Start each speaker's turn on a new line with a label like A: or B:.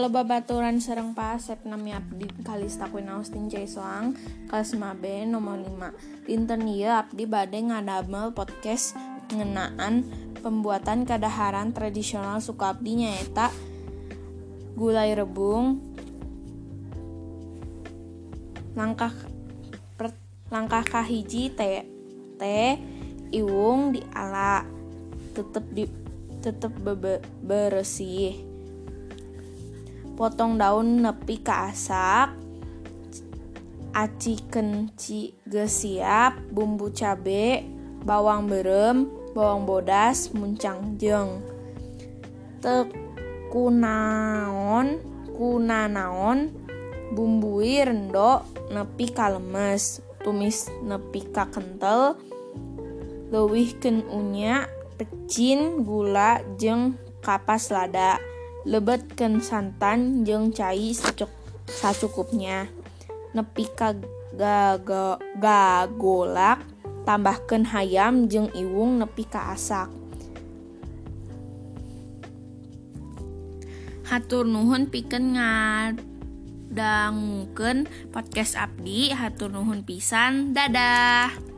A: Halo babaturan sareng Pasep nami abdi Kalista Queen Austin Jaiswang kelas 5B nomor 5. Dinten ieu abdi bade ngadamel podcast ngeunaan pembuatan kadaharan tradisional suku abdi nyaeta gulai rebung. Langkah kahiji teh iwung diala tetep beresih. Potong daun nepi ka asak, aci kenci geus siap, bumbu cabe, bawang beureum, bawang bodas, muncang jeung teu kunaon bumbui rendo nepi ka lemes, tumis nepi ka kentel, leuwihkeun unya, pecin, gula jeung kapas lada. Lebetkeun santan jeung cai sacukupnya. Nepi ka gagolak, tambahkeun hayam jeung iwung nepi ka asak. Hatur nuhun pikeun ngadangukeun podcast abdi. Hatur nuhun pisan. Dadah.